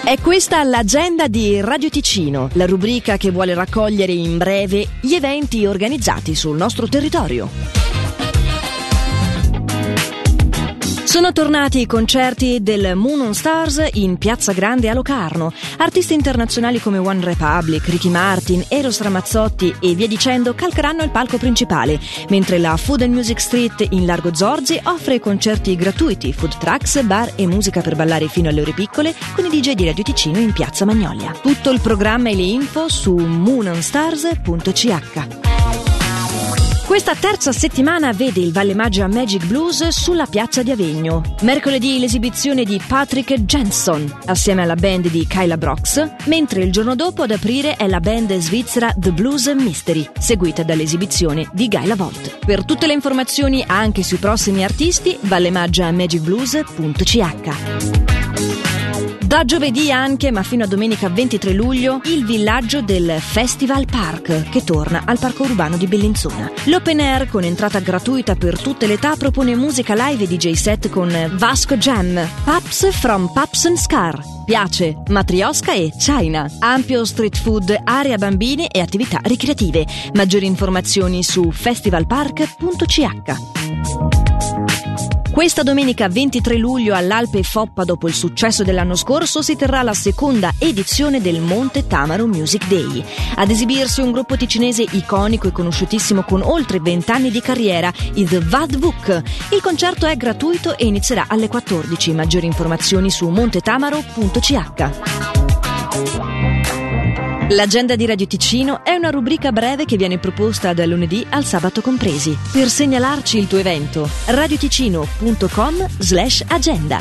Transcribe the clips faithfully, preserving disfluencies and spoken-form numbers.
È questa l'agenda di Radio Ticino, la rubrica che vuole raccogliere in breve gli eventi organizzati sul nostro territorio. Sono tornati i concerti del Moon on Stars in Piazza Grande a Locarno. Artisti internazionali come One Republic, Ricky Martin, Eros Ramazzotti e via dicendo calcheranno il palco principale, mentre la Food and Music Street in Largo Zorzi offre concerti gratuiti, food trucks, bar e musica per ballare fino alle ore piccole con i D J di Radio Ticino in Piazza Magnolia. Tutto il programma e le info su moon on stars punto c h. Questa terza settimana vede il Valle Maggia Magic Blues sulla piazza di Avegno. Mercoledì l'esibizione di Patrick Jenson assieme alla band di Kyla Brox, mentre il giorno dopo ad aprire è la band svizzera The Blues Mystery, seguita dall'esibizione di Guy Lavolt. Per tutte le informazioni anche sui prossimi artisti, vallemaggia magic blues punto c h. Da giovedì anche, ma fino a domenica ventitré luglio, il villaggio del Festival Park, che torna al parco urbano di Bellinzona. L'open air, con entrata gratuita per tutte le età, propone musica live e D J set con Vasco Jam, Paps from Paps and Scar, Piace, Matrioska e China. Ampio street food, area bambini e attività ricreative. Maggiori informazioni su festival park punto c h. Questa domenica ventitré luglio all'Alpe Foppa, dopo il successo dell'anno scorso, si terrà la seconda edizione del Monte Tamaro Music Day. Ad esibirsi un gruppo ticinese iconico e conosciutissimo con oltre vent'anni di carriera, i The Vadvuk. Il concerto è gratuito e inizierà alle quattordici. Maggiori informazioni su montetamaro punto c h. L'agenda di Radio Ticino è una rubrica breve che viene proposta dal lunedì al sabato compresi. Per segnalarci il tuo evento, radioticino punto com slash agenda.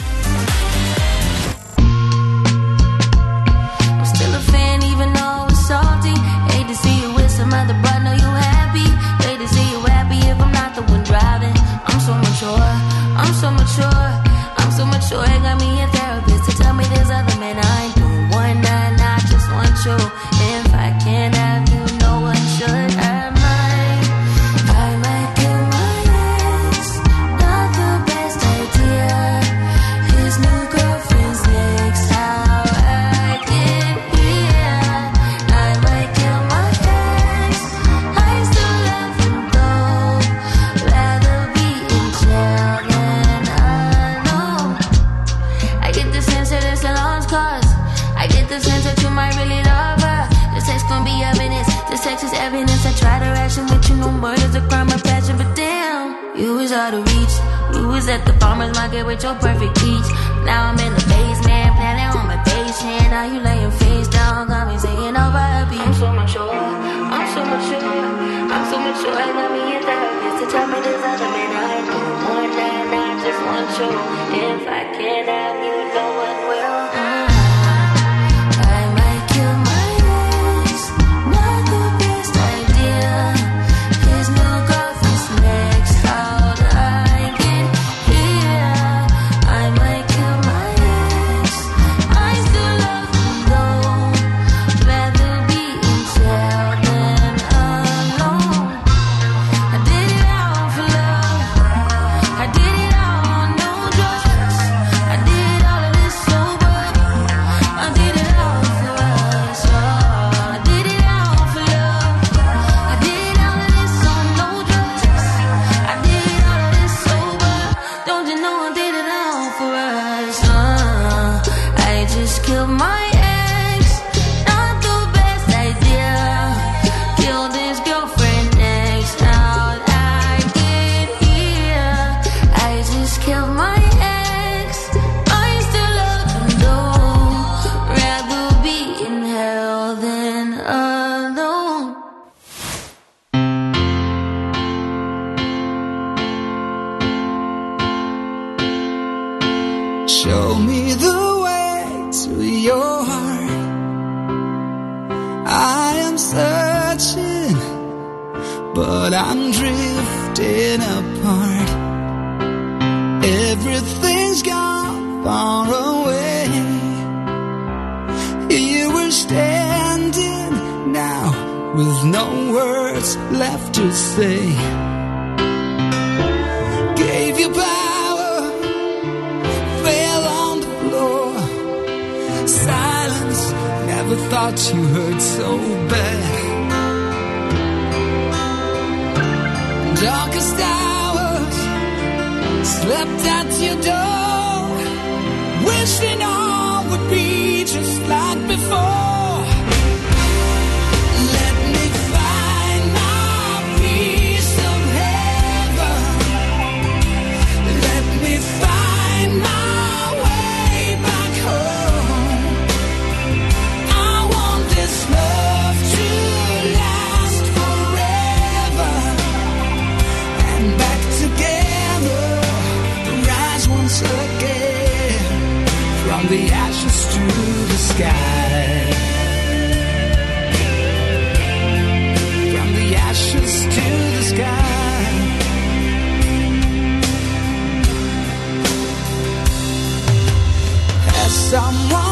Evidence, I try to ration with you, no murder's a crime of passion, but damn, you was out of reach. You was at the farmer's market with your perfect peach. Now I'm in the basement, planning on my patient. Now you laying face down, got me singing over a beat. I'm so mature, I'm so mature, I'm so mature. I got me a therapist to tell me there's other men I know more than I just want you. If I can't have you, no one will. Mm. Killed my ex, not the best idea. Killed his girlfriend next. How'd I get here? I just killed my ex. I still love him though. Rather be in hell than alone. Show me the to your heart. I am searching, but I'm drifting apart. Everything's gone far away. Here we're standing now with no words left to say. Gave you power, fell on the floor. Side the thoughts you heard so bad. Darkest hours slept at your door, wishing all would be just like before. Let me find my piece of heaven. Let me find my way back home. I want this love to last forever, and back together, rise once again, from the ashes to the sky. From the ashes to the sky. As someone